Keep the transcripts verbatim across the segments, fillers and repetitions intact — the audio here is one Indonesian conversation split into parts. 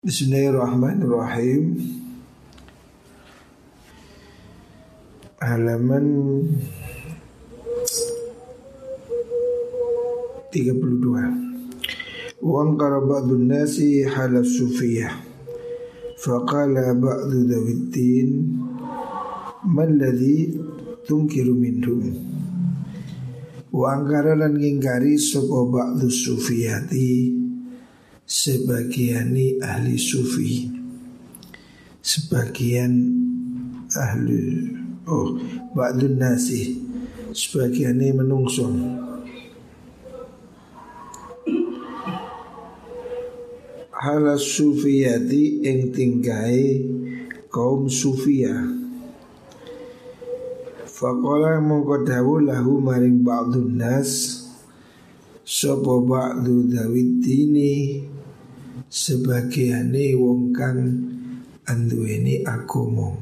Bismillahirrahmanirrahim. Halaman tiga puluh dua. Wa anqara ba'dun nasi halaf sufiyah. Faqala ba'du dawiddin man ladhi tunkiru minhum. Wa anqara lan ngingkari sapa ba'du sufiyati, sebagiani ahli sufi, sebagian ahli oh ba'dun nasi, sebagiani menungso. Halas sufiyati ing tingkai kaum sufia. Faqala mongko dawuh lahu maring ba'dun nas sapa ba'du dawiddini, sebagiane wong kang anduweni agama.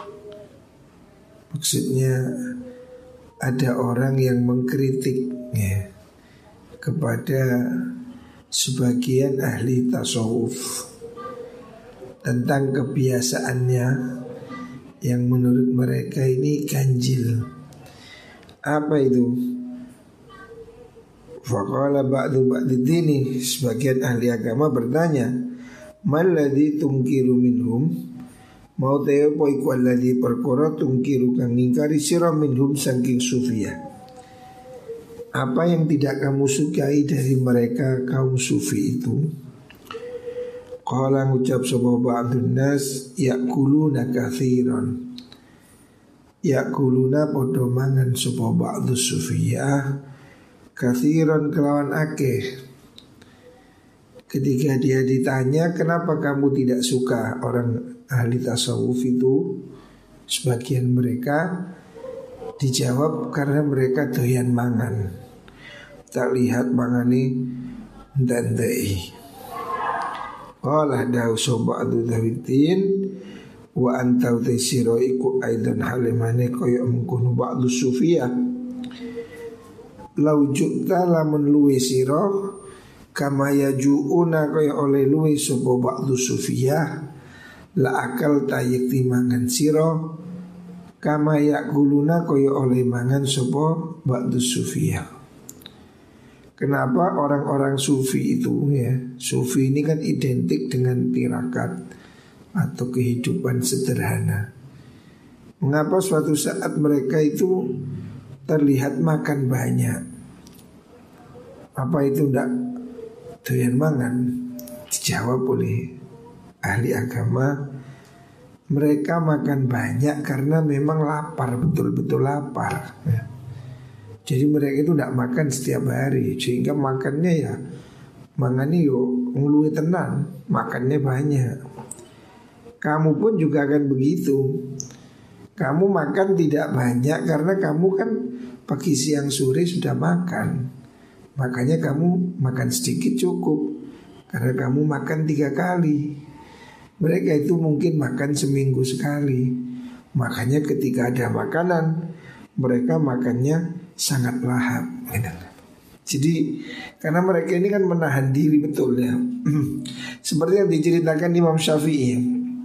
Maksudnya ada orang yang mengkritik ya, kepada sebagian ahli tasawuf tentang kebiasaannya yang menurut mereka ini ganjil. Apa itu? Faqala ba'du ba'diddini, sebagian ahli agama bertanya, malladhi tungkiru minhum, mau teo po iku alladhi perkara tungkiru kang ngingkari sira minhum saking sufiyah. Apa yang tidak kamu sukai dari mereka kaum sufi itu? Qala ngucap sapa ba'dun nas, yakuluna katsiran. Yakuluna padha mangan sapa ba'du sufiyah kathiran kelawan akeh. Ketika dia ditanya kenapa kamu tidak suka orang ahli tasawuf itu, sebagian mereka dijawab karena mereka doyan mangan. Tak lihat mangani ndandai. Qala dawu soba'du dawiddin wa anta utisiro iku aidan halimane koyo mengkono ba'du sufiyah. Lau jukta lamun luwe siro kama yajuuna kaya oleh luwe sopo ba'du sufiyah, la akal tayyik timangan siro kama yakuluna kaya oleh mangan sopo ba'du sufiyah. Kenapa orang-orang sufi itu ya, sufi ini kan identik dengan tirakat atau kehidupan sederhana. Mengapa suatu saat mereka itu terlihat makan banyak? Apa itu ndak doyan mangan? Dijawab oleh ahli agama, mereka makan banyak karena memang lapar, betul-betul lapar ya. Jadi mereka itu ndak makan setiap hari, sehingga makannya ya mangani yo ngluwi tenan, makannya banyak. Kamu pun juga akan begitu. Kamu makan tidak banyak karena kamu kan pagi siang sore sudah makan. Makanya kamu makan sedikit cukup, karena kamu makan tiga kali. Mereka itu mungkin makan seminggu sekali. Makanya ketika ada makanan, mereka makannya sangat lahap. Jadi karena mereka ini kan menahan diri betul ya. Seperti yang diceritakan Imam Syafi'i.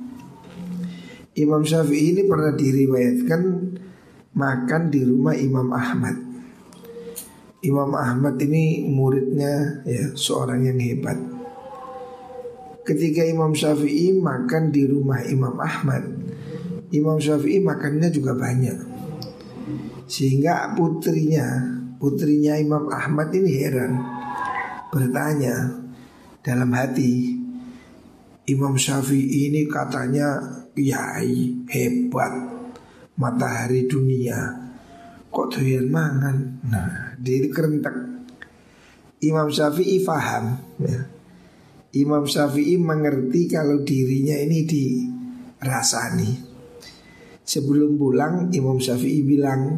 Imam Syafi'i ini pernah diriwayatkan makan di rumah Imam Ahmad. Imam Ahmad ini muridnya ya, seorang yang hebat. Ketika Imam Syafi'i makan di rumah Imam Ahmad, Imam Syafi'i makannya juga banyak. Sehingga putrinya, putrinya Imam Ahmad ini heran, bertanya dalam hati, Imam Syafi'i ini katanya kiai hebat, matahari dunia, kok doyan mangan. Nah, dia kerentek. Imam Syafi'i faham ya. Imam Syafi'i mengerti kalau dirinya ini dirasani. Sebelum pulang Imam Syafi'i bilang,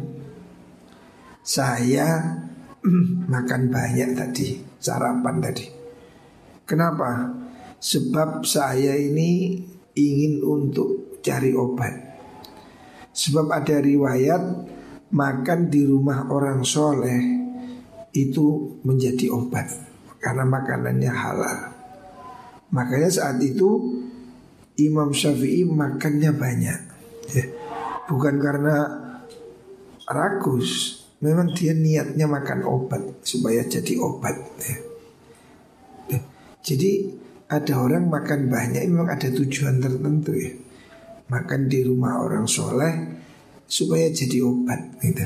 saya makan banyak tadi, sarapan tadi. Kenapa? Sebab saya ini ingin untuk cari obat. Sebab ada riwayat makan di rumah orang soleh itu menjadi obat karena makanannya halal. Makanya saat itu Imam Syafi'i makannya banyak ya. Bukan karena rakus, memang dia niatnya makan obat supaya jadi obat ya. Ya. Jadi ada orang makan banyak memang ada tujuan tertentu ya. Makan di rumah orang soleh supaya jadi obat gitu.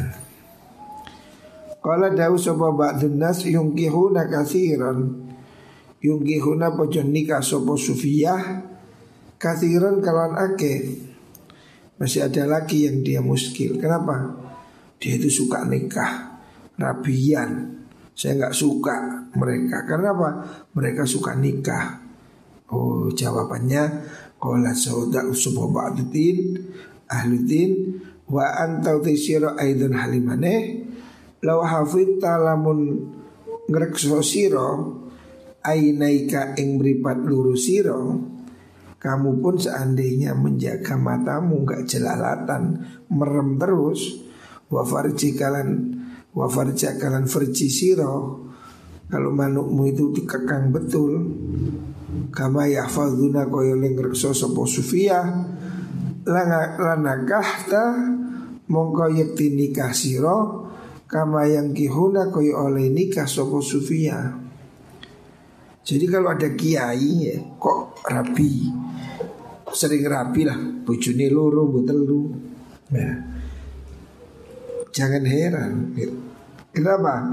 Qala dawu sapa ba'dun nas yungkihuna katsiran. Yungkihuna pojon nikah sapa sufiyah katsiran kalan ake. Masih ada lagi yang dia muskil. Kenapa? Dia itu suka nikah rabian. Saya nggak suka mereka. Karena apa? Mereka suka nikah. Oh, jawabannya qala sauda usba ba'dudin ahludin wa anta tisira aidan halimane law hafidta lamun ngrekso sira ainaika ing mripat luru sira, kamu pun seandainya menjaga matamu gak jelalatan, merem terus, wa farjikalan wa farjakalan farji siro, kalau manukmu itu dikekang betul, kama yahfadzuna koyo lengrekso sopo sufiyah, lanakahta mongko yekti nikah siro, kama yang kihuna koyo oleh nikah sopo sufiyah. Jadi kalau ada kiai ya, kok rabi, sering rabi lah, bojone loro mbotelu. Ya. Jangan heran. Kenapa?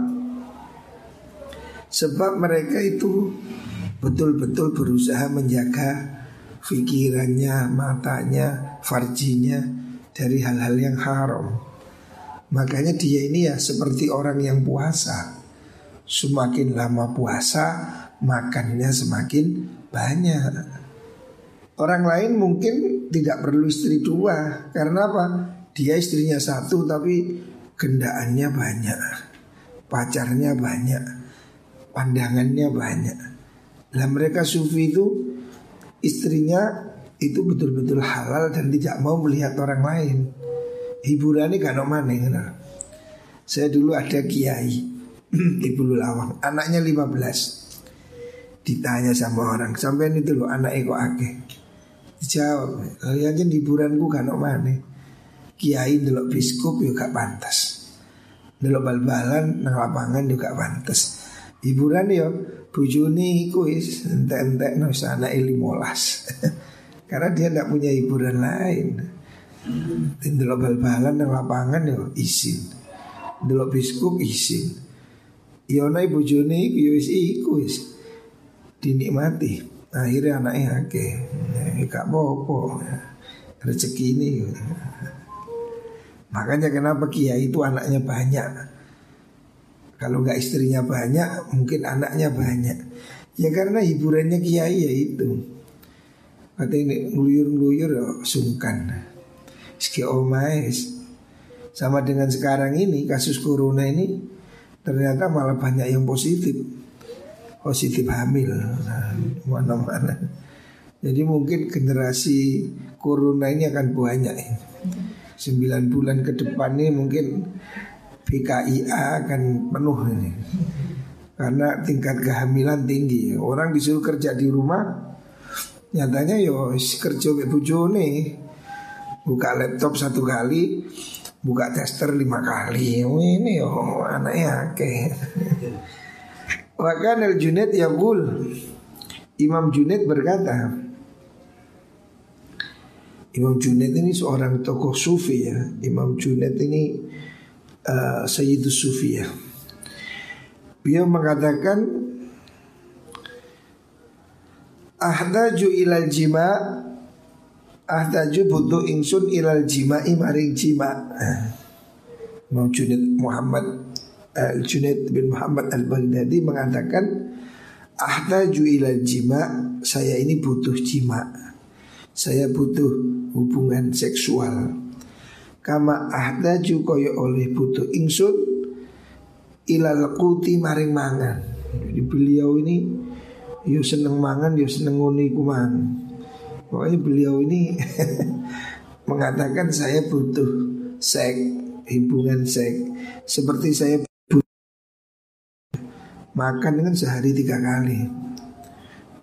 Sebab mereka itu betul-betul berusaha menjaga pikirannya, matanya, farjinya dari hal-hal yang haram. Makanya dia ini ya seperti orang yang puasa. Semakin lama puasa, makannya semakin banyak. Orang lain mungkin tidak perlu istri dua. Karena apa? Dia istrinya satu tapi gendaannya banyak, pacarnya banyak, pandangannya banyak. Nah mereka sufi itu istrinya itu betul-betul halal dan tidak mau melihat orang lain. Hiburannya gak mana. Saya dulu ada kiai di Bululawang, anaknya lima belas. Ditanya sama orang, sampean itu loh anaknya kok akeh. Dijawab, kalian aja hiburanku gak mana. Kiai delok biskup juga gak pantas, delok bal-balan nang lapangan juga pantas. Hiburan yo bojone iku wis entek-entek no sana limolas. Karena dia tidak punya hiburan lain. Delok bal-balan nang lapangan yo izin, delok biskup izin. Yo nai bojone iku yo wis iku wis dinikmati. Akhirnya anaknya akeh, gak apa-apa, rezeki ini. Makanya kenapa kiai itu anaknya banyak. Kalau nggak istrinya banyak, mungkin anaknya banyak. Ya karena hiburannya kiai ya itu. Katanya ngeluyur-ngeluyur sungkan. Ski omais. Sama dengan sekarang ini kasus corona ini ternyata malah banyak yang positif. Positif hamil mana-mana. Jadi mungkin generasi corona ini akan banyak. sembilan bulan ke depan ini mungkin B K I A akan penuh ini. Karena tingkat kehamilan tinggi. Orang disuruh kerja di rumah, nyatanya yo kerja mek bojone. Buka laptop satu kali, buka tester lima kali. Oh, ini yo anaknya akeh. Wakan al-Junaid yaqul, Imam Junaid berkata, Imam Junaid ini seorang tokoh sufi ya. Imam Junaid ini uh, Sayyidus Sufi ya. Beliau mengatakan ahdaju ilal jima, ahdaju butuh ingsun ilal jima'i maring jima. Imam Junaid Muhammad Al-Junaid bin Muhammad Al-Baghdadi mengatakan ahdaju ilal jima, saya ini butuh jima, saya butuh hubungan seksual. Kama ahdaju koyo oleh butuh ingsun ilal quti maring mangan. Jadi beliau ini yo seneng mangan, yo seneng ngoni kumang. Pokoknya beliau ini mengatakan saya butuh seks, hubungan seks. Seperti saya butuh makan dengan sehari tiga kali.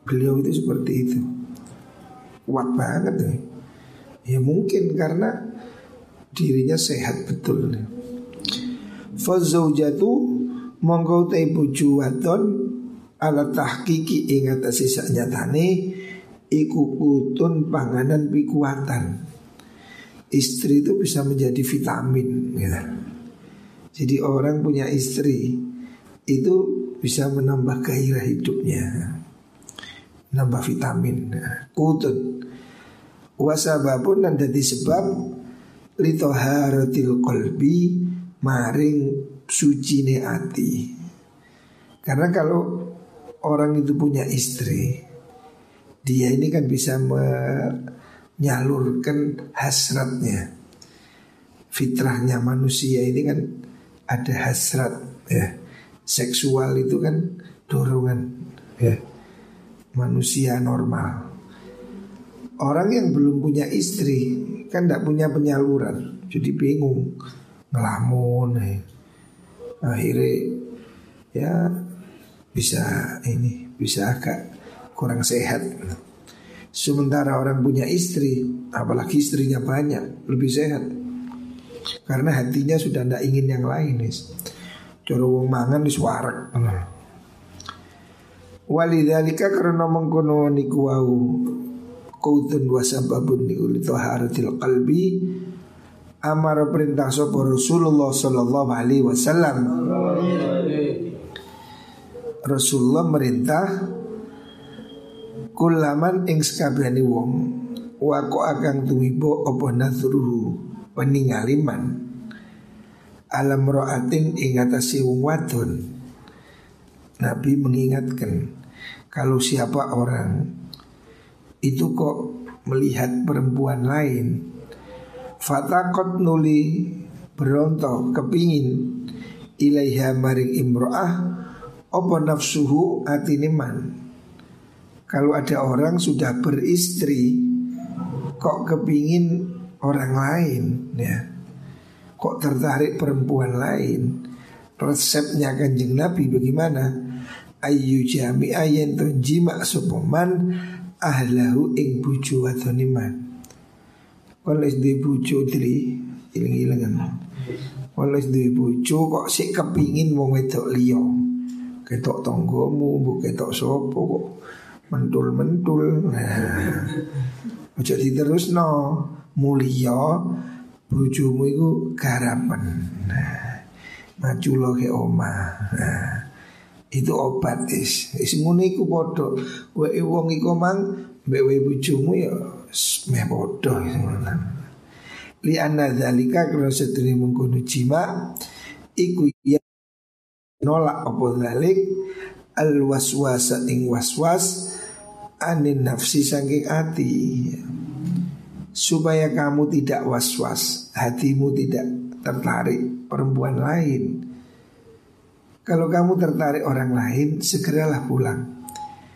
beliau itu seperti itu. Kuat banget ya. Ya mungkin karena dirinya sehat betul. Fazaujatu mongko te bojo wadon ala tahqiqi ing atase saknyatane iku kutun panganan pikuatan. Istri itu bisa menjadi vitamin gitu. Jadi orang punya istri itu bisa menambah gairah hidupnya, nambah vitamin, kutun. Wasababun dan dadi sebab litoharatil qalbi maring sucine ati. Karena kalau orang itu punya istri, dia ini kan bisa menyalurkan hasratnya. Fitrahnya manusia ini kan ada hasrat ya. Seksual itu kan dorongan ya, manusia normal. Orang yang belum punya istri kan tidak punya penyaluran, jadi bingung, ngelamun ya. Akhirnya ya bisa ini, bisa agak kurang sehat. Sementara orang punya istri, apalagi istrinya banyak, lebih sehat. Karena hatinya sudah tidak ingin yang lain. Cara wong mangan wis warak. Walidzalika karena mengkono niku wau qautun wa sababun niku li taharatil qalbi amara perintah sapa Rasulullah sallallahu alaihi wasallam. Rasulullah merintah kulaman ing sakabehane wong wa ko akan tumibo apa nazruhu peningaliman alam ro'atin ing atase wong wadon. Nabi mengingatkan kalau siapa orang itu kok melihat perempuan lain, fatakot nuli berontok kepingin ilaiha maring imro'ah apa nafsuhu atiniman. Kalau ada orang sudah beristri kok kepingin orang lain ya, kok tertarik perempuan lain, resepnya Kanjeng Nabi bagaimana? Ayu jami ayen tunjima sopoman ahlahu ing buju wadoniman. Kalau di buju tri ilang-ilangan, kalau di buju kok sik kepingin wong wedok liya, ketok tonggomu, bu ketok sopo kok mentul-mentul. Nah, ojo diterusno, mulia bojomu iku garapen. Nah, maju lo ke omah. Nah, itu obat is. Is ngono iku padha. Wae wong iku mang mbek bojomu ya meh padha ngono. Li anna dzalika kana sedene mengkono jima iku ya nolak apa dzalik al waswasa ing waswas anin nafsi saking ati. Supaya kamu tidak was-was, hatimu tidak tertarik perempuan lain. Kalau kamu tertarik orang lain, segeralah pulang.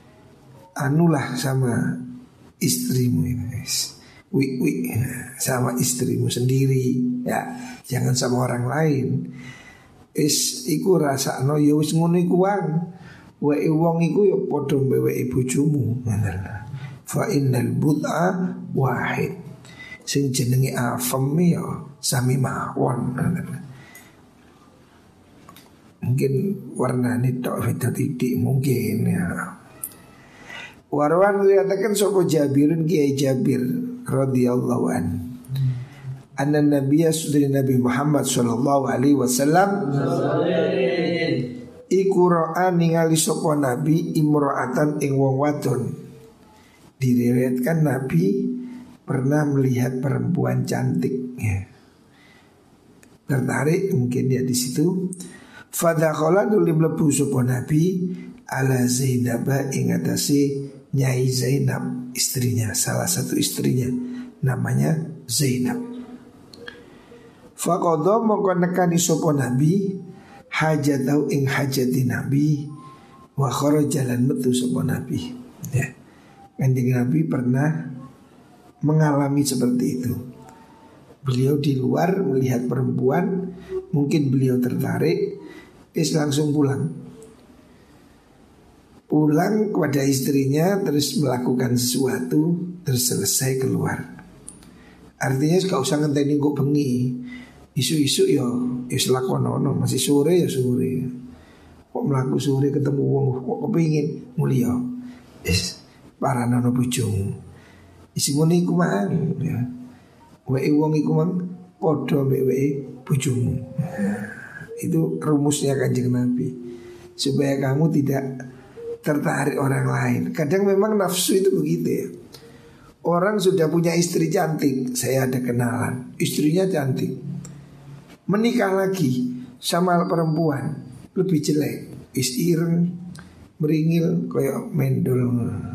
Anulah sama istrimu ini, wik wik sama istrimu sendiri, ya jangan sama orang lain. Is iku rasa no ya wis ngono iku wang, wae wong iku ya padha mbeweki bojomu. Fa innal bud'a wahid. Sing jenenge afem ya sami mawon. Mungkin warnane tok beda titik mungkin ya. Warwan dikatakan sapa Jabirun Kiai Jabir radhiyallahu an. Anna Nabiyya sudah Nabi Muhammad sallallahu alaihi wasallam iku ra'a ningali sapa Nabi imra'atan ing wong wadon. Diriwayatkan Nabi pernah melihat perempuan cantik ya. Tertarik mungkin dia di situ. Fadakhala nuli mlebu sapa Nabi ala Zainab ing atase Nyai Zainab, istrinya, salah satu istrinya namanya Zainab. Faqadha mongko nekani sapa Nabi hajatau ing hajati Nabi wa kharaja lan metu sapa Nabi ya. Kanjeng Nabi pernah mengalami seperti itu. Beliau di luar melihat perempuan, mungkin beliau tertarik, is langsung pulang. pulang kepada istrinya, terus melakukan sesuatu, terus selesai keluar. Artinya gak usah ngenteni kok bengi. Isu-isu ya wis lakonono, masih sore ya sore. Kok mlaku sore ketemu wong kok kepengin mulia. Wis paranono bojomu. Isi ngono iku mang ya. Wae wong iku mang padha mek wae bojomu. Itu rumusnya Kanjeng Nabi. Supaya kamu tidak tertarik orang lain. Kadang memang nafsu itu begitu ya. Orang sudah punya istri cantik, saya ada kenalan, istrinya cantik, menikah lagi sama perempuan lebih jelek, is ireng, meringil, kayak mendol.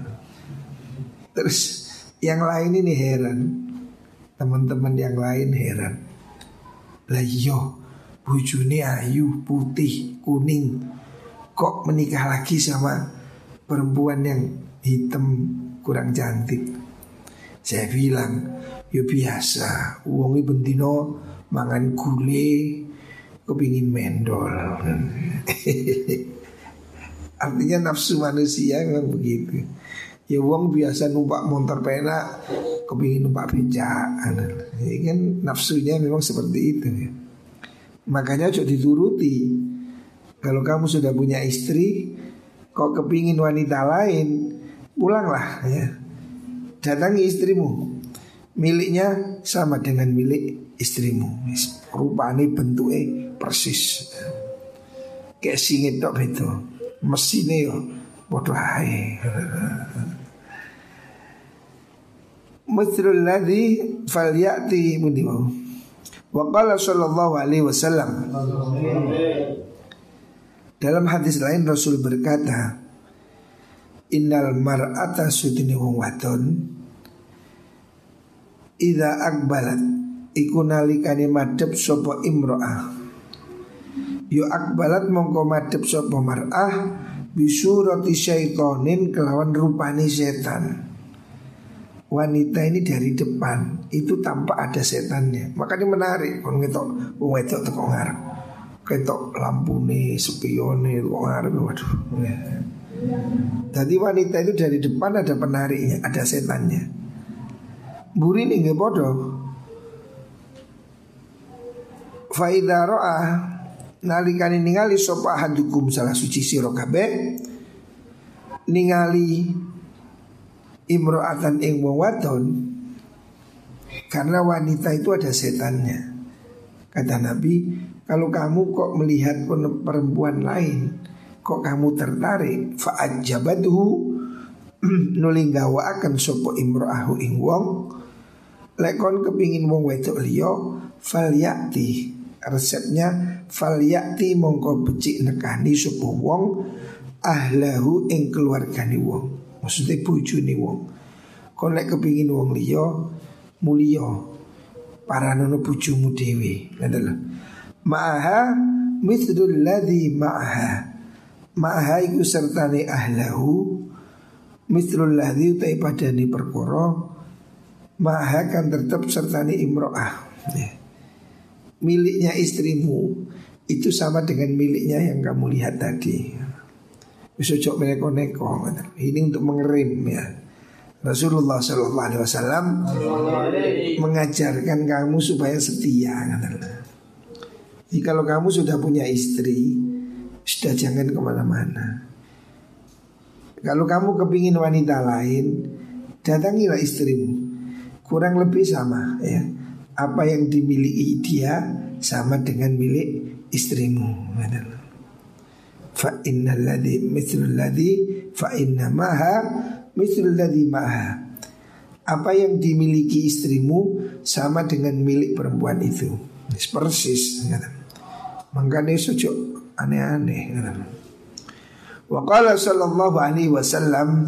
Terus yang lain ini heran, teman-teman yang lain heran. Lah yo, bojone ayu, putih, kuning, kok menikah lagi sama perempuan yang hitam kurang cantik. Saya bilang, ya biasa, wongi bendino mangan gule, kepingin mendol. Artinya nafsu manusia memang begitu. Ya wong biasa numpak motor penak, kepingin numpak becak. Ini kan nafsunya memang seperti itu ya. Makanya coba dituruti. Kalau kamu sudah punya istri, kok kepingin wanita lain, pulanglah ya. Datangi istrimu, miliknya sama dengan milik istrimu. Rupanya bentuknya persis, kayak singit tok itu. Mesinnya yo bodoh ae. Mithlul ladzi falyati mudimu. Wa qala sallallahu alaihi wasallam. Dalam hadis lain Rasul berkata, innal mar'ata sudini wong wadon idza akbalat iku nalikane madhep sapa imro'ah. Yo akbalat mongko madhep sapa mar'ah bisurati syaitonin kelawan rupani setan. Wanita ini dari depan itu tampak ada setannya. Makanya menarik kon ngetok wong wedok teko ngarep. Ketok lampune, spione teko ngarep, waduh. Ya. Jadi wanita itu dari depan ada penariknya, ada setannya. Buri ini nggak bodoh. Faida roa nalikani ningali sopa hadukum salah suci siro kabeh ningali imro'atan ing wong wadon, karena wanita itu ada setannya. Kata Nabi, kalau kamu kok melihat perempuan lain, kok kamu tertarik, fa'ajabatuhu nulinggawa akan sopo imro'ahu ing wong, lekon kepingin wong wedok liyo, falyakti, resepnya falyakti mongko becik nekani sopo wong, ahlahu ing keluargani wong, maksudnya bojone wong. Kon lek kepingin wong liyo, mulio, paranono bojomu dewe, adalah ma'aha mithlul ladzi ma'aha. Ma'aha iku sertane ahlahu mithlul ladzi utai padani perkara ma'aha kan tetap sertane imro'ah ya. Miliknya istrimu itu sama dengan miliknya yang kamu lihat tadi. Bisa cok meneko-neko. Ini untuk mengerim ya. Rasulullah shallallahu alaihi wasallam mengajarkan kamu supaya setia. Jadi kalau kamu sudah punya istri, sudah jangan kemana-mana. Kalau kamu kepingin wanita lain, datangilah istrimu. Kurang lebih sama ya. Apa yang dimiliki dia sama dengan milik istrimu. Fa innal ladzi mithlul ladzi fa inna maha mithlul ladzi maha. Apa yang dimiliki istrimu sama dengan milik perempuan itu. Persis. Makanya sejak aneh-aneh. Wa qala sallallahu alaihi wasallam,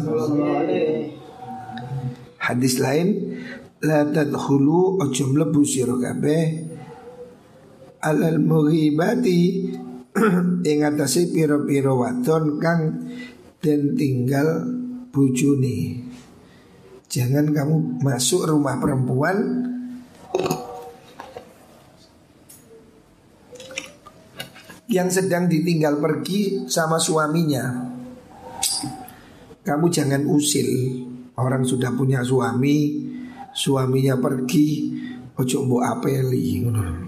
hadis lain, la tadkhulu ojo mlebu sira kabeh alal mughibati ing atase pira-pira wadon kang den tinggal bojone. Jangan kamu masuk rumah perempuan yang sedang ditinggal pergi sama suaminya. kamu jangan usil. Orang sudah punya suami, suaminya pergi, ojo mbok apeli.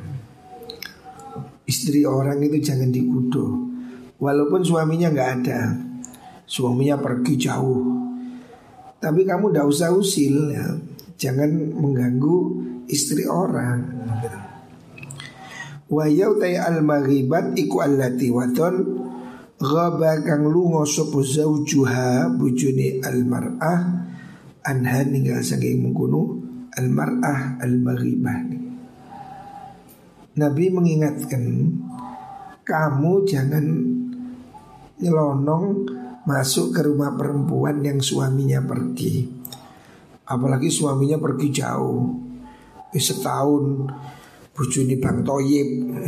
Istri orang itu jangan dikudo. Walaupun suaminya nggak ada, suaminya pergi jauh, tapi kamu ndak usah usil ya. Jangan mengganggu istri orang. Wa yautai al-maghibat iku allati waton ghaba kang lunga sapa zaujuha bujuni al-mar'ah anha ninggal saking mengkono al-mar'ah al-maghibah. Nabi mengingatkan kamu jangan nyelonong masuk ke rumah perempuan yang suaminya pergi. Apalagi suaminya pergi jauh, eh, setahun bojone Bang Toyib.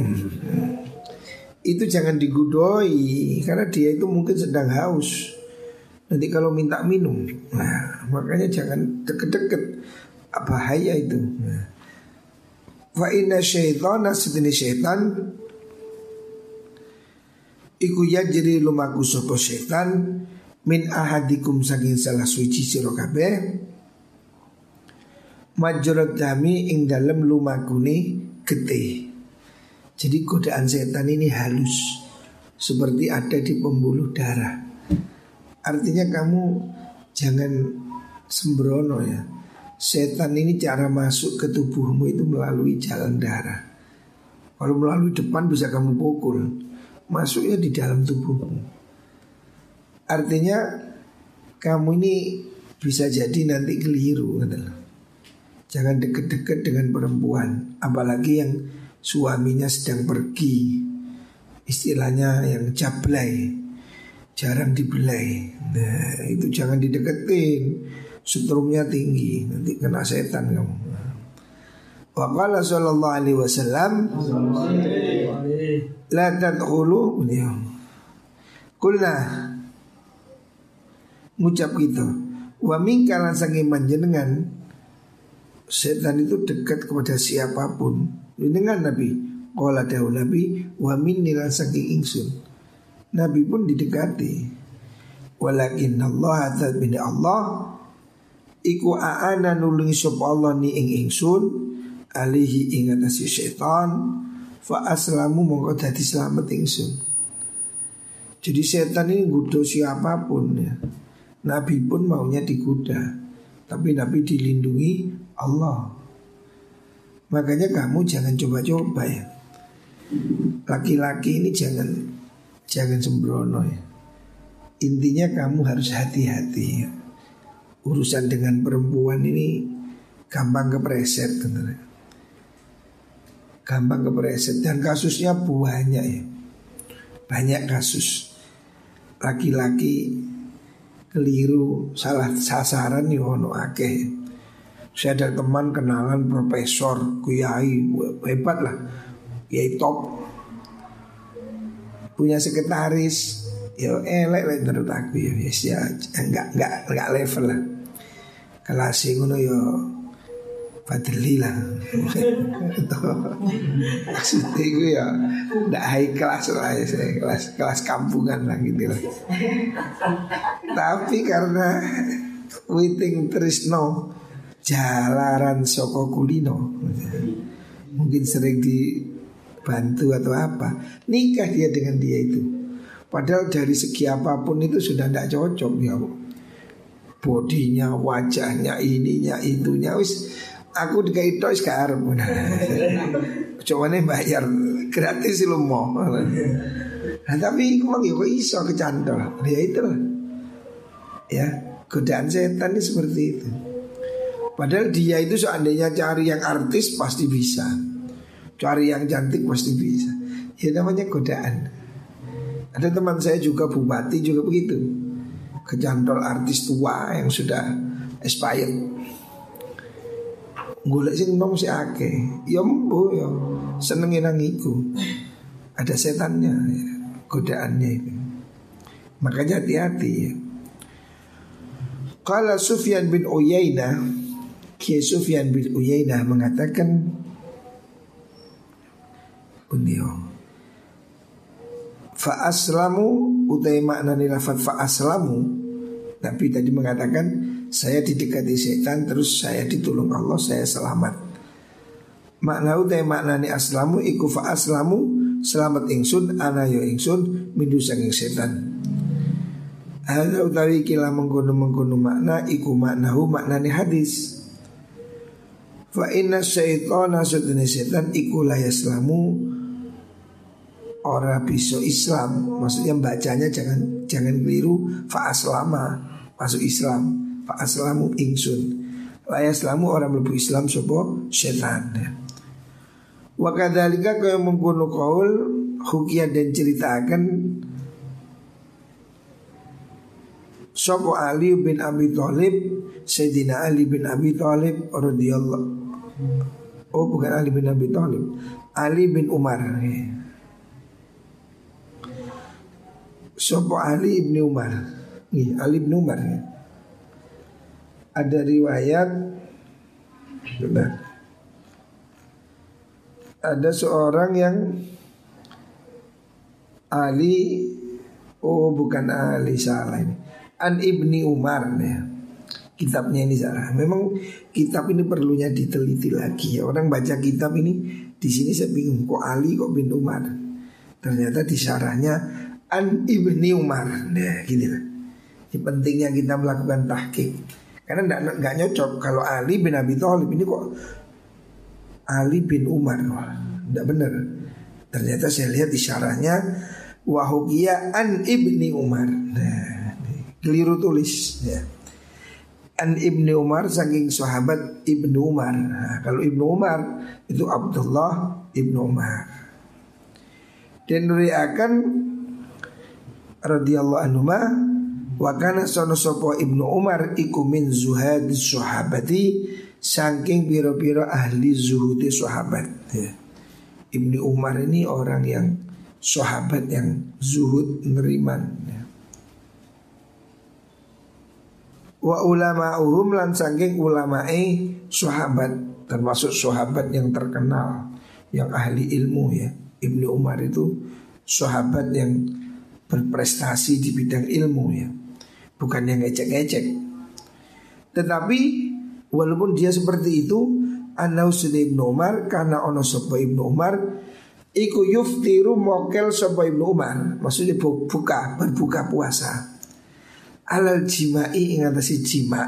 Itu jangan digudoi, karena dia itu mungkin sedang haus. Nanti kalau minta minum, nah, makanya jangan deket-deket, bahaya itu. Nah. Fa inna syaitana sedene syaitan iku yajri lumaku sapa syaitan min ahadikum saking salah suci sira kabeh majrad dami ing dalem lumakune getih. Jadi godaan setan ini halus, seperti ada di pembuluh darah. Artinya kamu jangan sembrono ya. Setan ini cara masuk ke tubuhmu itu melalui jalan darah. Kalau melalui depan bisa kamu pukul, masuknya di dalam tubuhmu. Artinya kamu ini bisa jadi nanti keliru. Jangan deket-deket dengan perempuan, apalagi yang suaminya sedang pergi, istilahnya yang jablay, jarang dibelai. Nah itu jangan dideketin, setrumnya tinggi, nanti kena setan kamu. Wa qala sallallahu alaihi wasallam la tadkhulu kulna ngucap gitu wa min kalan sange panjenengan setan itu dekat kepada siapapun dengan Nabi. Qala dawu Nabi wa min nilan saking ingsun. Nabi pun didekati. Walakin Allah ta'ala Allah iku aana nulungi sapa Allah ni ing ingsun alihi ing atase setan fa aslamu mongko dadi slamet ingsun. Jadi setan ini gudo siapapun ya. Nabi pun maunya digoda, tapi Nabi dilindungi Allah. Makanya kamu jangan coba-coba ya. Laki-laki ini jangan jangan sembrono ya. Intinya kamu harus hati-hati ya. Urusan dengan perempuan ini gampang kepreset bener. Gampang kepreset dan kasusnya banyak ya. Banyak kasus laki-laki keliru salah sasaran nih ono akeh. Saya ada teman kenalan profesor, kiai hebat lah, kiai top, punya sekretaris, ya elek lah menurut aku ya, ya enggak enggak enggak level lah, kelas ngono ya fadli lah, maksudnya gue ya enggak high class lah ya, saya kelas kelas kampungan lah gitu lah, tapi karena witing trisno jalaran soko kulino, mungkin sering dibantu atau apa, nikah dia dengan dia itu. Padahal dari segi apapun itu sudah tidak cocok ya, bodinya, wajahnya, ininya, itunya, wis aku dikai tok wis gak arep. Cumane bayar gratis lu mau. Nah tapi kok kok iso kecantol. Ya itulah. Ya, godaan setan ini seperti itu. Padahal dia itu seandainya cari yang artis pasti bisa, cari yang cantik pasti bisa. Ya namanya godaan. Ada teman saya juga bupati juga begitu, kecantol artis tua yang sudah expired. Golek sing nom si akeh, ya mbo ya senengin nang iku. Ada setannya, ya, godaannya itu. Makanya hati-hati ya. Qala Sufyan bin Uyainah, Kiai Sufyan bin Uyainah mengatakan beliau fa aslamu utai makna lafaz fa aslamu Nabi tadi mengatakan saya didekati setan terus saya ditolong Allah, saya selamat. Makna utai maknani aslamu iku fa aslamu selamat ingsun ana yo ingsun mindu saking setan. Ada utawi kila mengkono-mengkono makna iku maknahu maknani hadis. Fa inna syaitana satune setan iku la yaslamu ora bisa Islam. Maksudnya bacanya jangan jangan keliru fa aslama masuk Islam, fa aslamu ingsun. La yaslamu orang mlebu Islam sapa setan. Wa kadzalika kaya mengkono qaul hukiyah dan ceritakan sapa Ali bin Abi Thalib, Sayyidina Ali bin Abi Thalib radhiyallahu. Oh bukan Ali bin Abi Thalib, Ali bin Umar. Sapa Ali bin Umar. Nih, Ali bin Umar ya. Ada riwayat benar. Ada seorang yang Ali, oh bukan Ali, salah ini. An Ibni Umar ya. Kitabnya ini salah. Memang kitab ini perlunya diteliti lagi ya. Orang baca kitab ini di sini saya bingung kok Ali kok bin Umar. Ternyata di syarahnya An Ibni Umar. Nah, gini lah. Ini pentingnya kita melakukan tahqiq. Karena enggak enggak nyocok kalau Ali bin Abi Thalib ini kok Ali bin Umar. Tidak benar. Ternyata saya lihat di syarahnya wahukiya an ibni Umar. Nah, keliru tulis ya. An ibni Umar saking sahabat Ibnu Umar. Nah, kalau Ibnu Umar itu Abdullah Ibnu Umar. Dan riakan radhiyallahu anhu ma wa kana sono sopo Ibnu Umar iku min zuhad sahabati saking biro-biro ahli zuhudi sahabat ya. Ibnu Umar ini orang yang sahabat yang zuhud neriman ya. Wa ulama'uhum lan saking ulamae sahabat termasuk sahabat yang terkenal yang ahli ilmu ya. Ibnu Umar itu sahabat yang berprestasi di bidang ilmu ya. Bukan yang ngecek-ngecek. Tetapi walaupun dia seperti itu, anau sudah Ibnu Umar karena ono sapa Ibnu Umar iku yuftiru mokel sapa Ibnu Umar, maksudnya buka berbuka puasa. Alal jimai ing atase jima.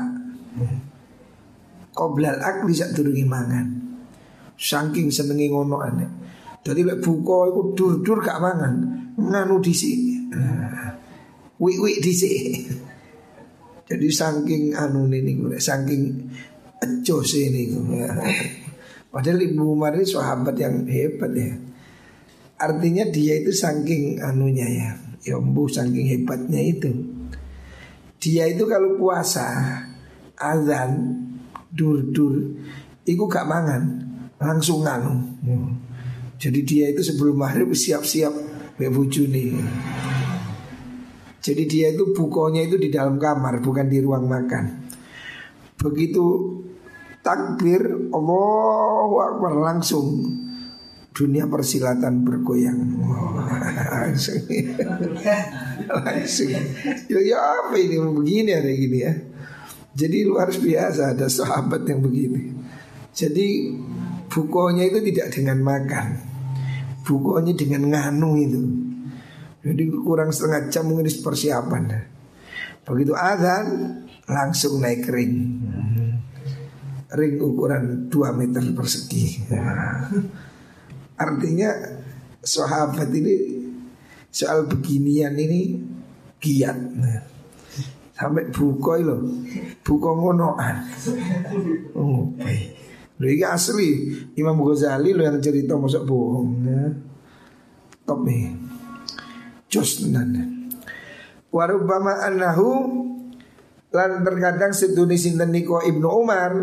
Qoblal akli sak durunge mangan. Saking senenge ngono ane. Dadi lek buka iku dur-dur gak mangan, nganu dhisik. Wik-wik dhisik. Jadi saking anu niku, saking ecos ini. Padahal Ibnu Umar ini sahabat yang hebat ya. Artinya dia itu saking anunya ya, ya mbuh saking hebatnya itu. Dia itu kalau puasa azan dur-dur iku gak mangan, langsung nganu. Jadi dia itu sebelum maghrib siap-siap mbek bojone. Jadi dia itu bukanya itu di dalam kamar, bukan di ruang makan. Begitu takbir Allahu Akbar langsung dunia persilatan bergoyang. Langsung. Langsung. Ya, ya apa ini begini ada gini ya. Jadi luar biasa ada sahabat yang begini. Jadi bukanya itu tidak dengan makan, bukanya dengan nganu itu. Jadi kurang setengah jam mungkin persiapan. Begitu azan langsung naik ring. Ring ukuran dua meter persegi. Artinya sahabat ini soal beginian ini giat. Sampai buka loh, buka ngonoan. Oh, lho iki asli Imam Ghazali lo yang cerita masa bohong ya. Top nih. Jos tenan. Warubama annahu lan terkadang sedune sinten niku Ibnu Umar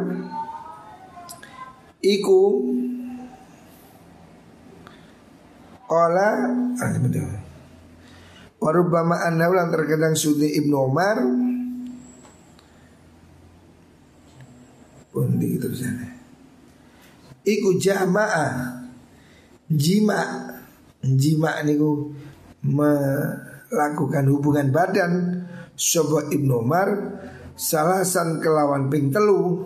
iku qala warubama annahu lan terkadang sedune Ibnu Umar pundi terusane iku jamaah jima jima niku melakukan hubungan badan sapa Ibnu Umar salasan kelawan ping telu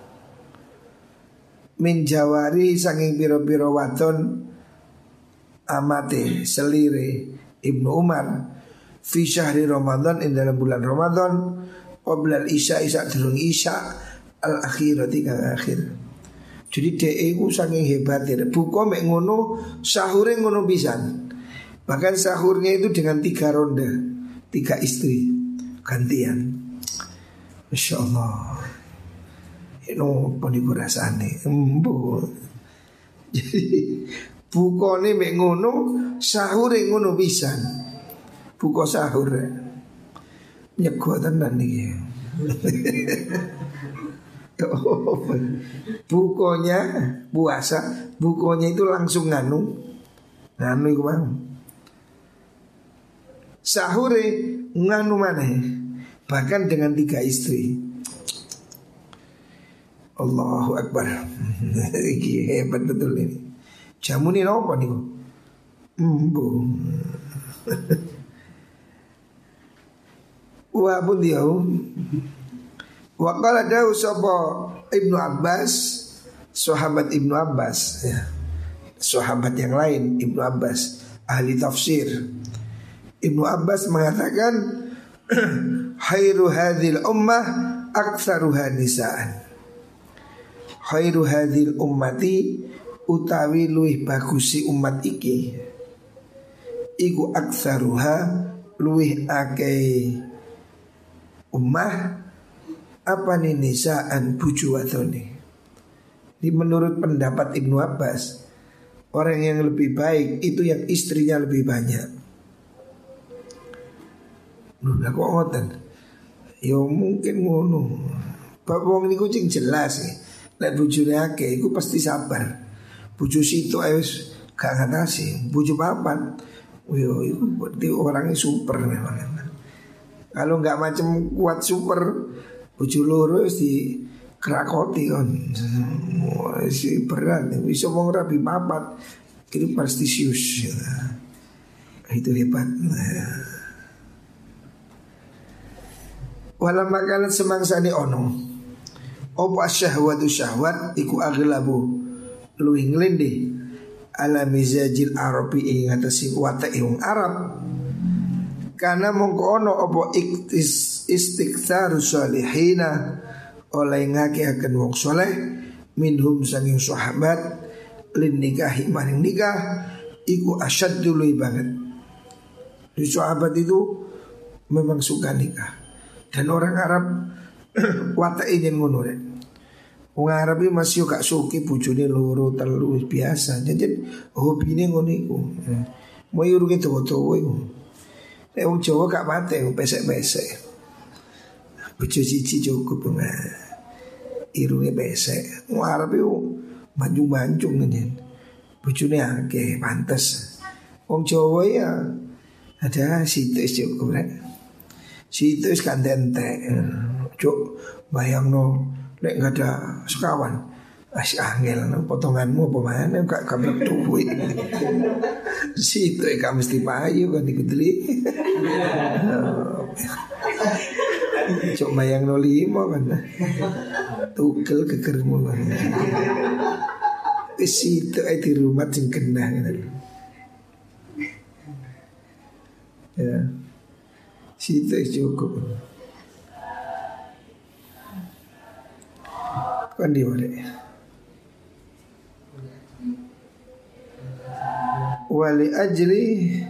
min jawari saking pira-pira wadon amate selire Ibnu Umar fi syahri Ramadan ing dalam bulan Ramadan qabla isya isya durung isya al akhirati kang akhir. Jadi dhek iku saking hebate buka mek ngono sahure ngono pisan. Bahkan sahurnya itu dengan tiga ronde, tiga istri gantian. Masya Allah. Ini pun iku rasane embo. Jadi bukane mek ngono sahure ngono pisan. Buka sahur nyego tenan iki. Bukonya puasa, bukonya itu langsung nganu, nganu itu bang. Sahure nganu mana? Bahkan dengan tiga istri. Allahu Akbar. Ini hebat betul ini. Jamu ini apa nih? Embu. Wa pun dia. Wa qala dawu sapa Ibnu Abbas, sahabat Ibnu Abbas ya. Sahabat yang lain Ibnu Abbas, ahli tafsir. Ibnu Abbas mengatakan khairu hadhil ummah aktsaruha nisaan. Khairu hadhil ummati utawi luwih bagusi umat iki iku aktsaruha luwih akeh ummah apa nih nisaan buju wadone. Ini menurut pendapat Ibnu Abbas, orang yang lebih baik itu yang istrinya lebih banyak. Loh lah kok ngoten? Ya mungkin ngono. Bab wong niku cing jelas ya. Nek bojone akeh iku pasti sabar. Bojo situ ae wis gak ngatasi. Bojo papat. Yo iku berarti orangnya super memang. Kalau nggak macam kuat super, bojo loro wis di krakoti kon. Si berat, bisa wong rabi papat. Itu prestisius. Itu hebat. Walau makanan semangsane ono opo syahwatu syahwat iku aglabu luwih nglendhe ala mizajil arabi ing atase watake wong Arab. Karena mongko ono opo iktis istiktsaru salihina oleh ngakeaken wong saleh minhum sanging sahabat lin nikahi maring nikah iku asyaddu luwih banget. Di sahabat itu memang suka nikah. Dan orang Arab watake yen ngono rek. Wong Arab iki masih gak suki bojone loro telu biasa. Jadi hobine ngono iku. Mau urunge dawa-dawa iku. Nek wong Jawa gak pate pesek-pesek. Bojo siji cukup nah. Irunge pesek. Wong Arab iku manjung-manjung ngene. Bojone akeh pantes. Wong Jawa ya ada situ cukup rek. Situ is kan entek. Cuk bayangno nek gak ada sekawan. As angel potonganmu apa mana gak kabar duit. Situ ikan mesti payu kan dikutli. Cuk bayangno lima kan. Tukel kekermu kan. Situ ai di rumah sing kena kan. Ya. Situ cukup. Kan di mana? Wali ajri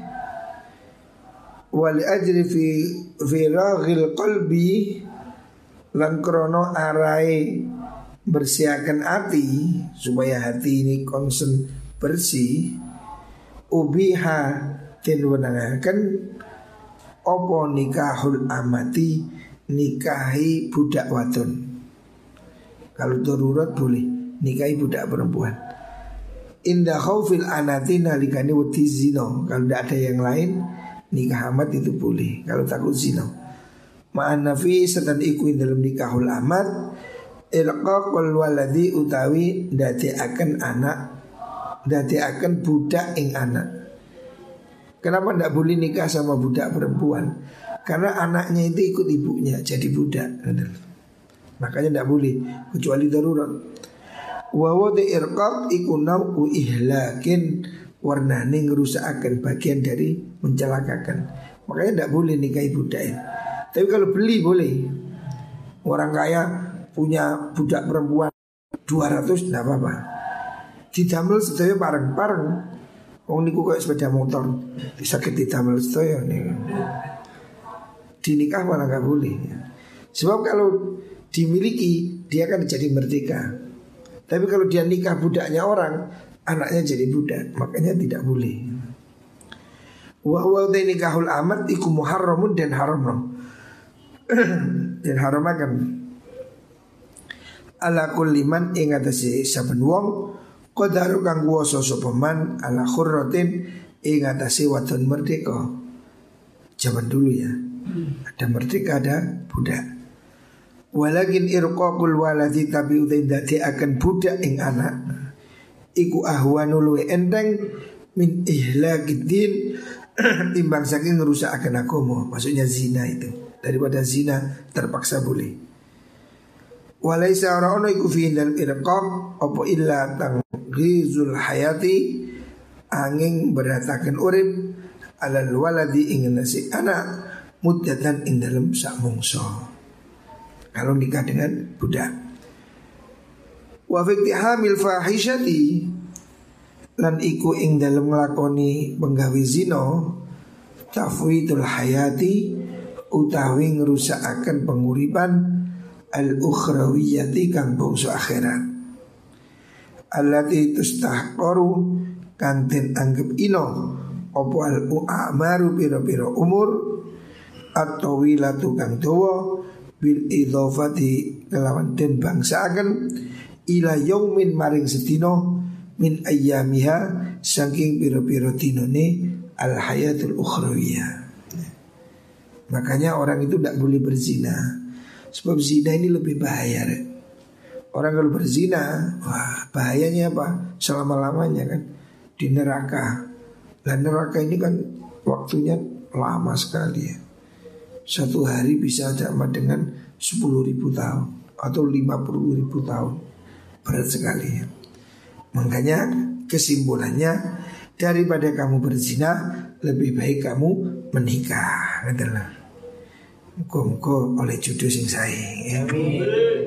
Wali ajri fi Firaghil qalbi lan krono arai bersihakan hati supaya hati ini konsen bersih. Ubiha den wenangaken opo nikahul amati nikahi budak wadon. Kalau darurat boleh nikahi budak perempuan. Indah khaufil anati nalikani wedi zina. Kalau tidak ada yang lain nikah amat itu boleh. Kalau takut zina. Ma'an nafi setan iku dalam nikahul amat ilqaqul waladi utawi dadi akan anak dadi akan budak ing anak. Kenapa tidak boleh nikah sama budak perempuan? Karena anaknya itu ikut ibunya jadi budak. Makanya tidak boleh kecuali darurat. Wa wadi irqab iku nau'u ihlakin, warnane ngerusakaken, bagian dari mencelakakan. Makanya tidak boleh nikahi budak. Tapi kalau beli boleh. Orang kaya punya budak perempuan dua ratus tidak apa-apa. Didamel sedaya pareng-pareng. Wong niku kayak sepeda motor bisa didamel sedaya nih. Dinikah malah nggak boleh. Sebab kalau dimiliki dia akan jadi merdeka. Tapi kalau dia nikah budaknya orang, anaknya jadi budak, makanya tidak boleh. Wa huwa nikahul amat iku muharramun dan haram. Dan haram akan ala kulli man ing atase saben wong qadaru kang kuwasa sapa man ala khurratin ing atase wadon merdeka. Zaman dulu ya. Ada merdeka, ada budak. Walakin irqaqul waladi tabi utain dadi akan budak ing anak iku ahwanu luwe enteng min ihlakiddin timbang saking ngerusakaken agama. Maksudnya zina itu. Daripada zina terpaksa boleh. Walaisa ora ono iku fi dal irqaq apa illa tanghizul hayati angin beratakan urip alal waladi ing nasi anak muddatan ing dalem sak mungso. Kalau nikah dengan budak. Wa fi hamil fahishati lan iku ing dalem nglakoni penggawe zina tafwidul hayati utawi ngrusakaken penguripan al-ukhrawiyati kang bangsa akhirat. Allati tustahqaru kang den anggap ino apa al-u'amaru pira-pira umur at-tawilatu kang dawa bil idhofati kelawan den bangsaaken ila yaumin maring sedina min ayyamiha saking pira-pira dinane al hayatul ukhrawiyah. Makanya orang itu tidak boleh berzina. Sebab zina ini lebih bahaya. Orang kalau berzina, wah bahayanya apa? Selama-lamanya kan di neraka. Dan neraka ini kan waktunya lama sekali ya. Satu hari bisa sama dengan sepuluh ribu tahun atau lima puluh ribu tahun. Berat sekali ya. Makanya kesimpulannya, daripada kamu berzina, lebih baik kamu menikah. Adalah muka-muka oleh jodoh sing sae ya.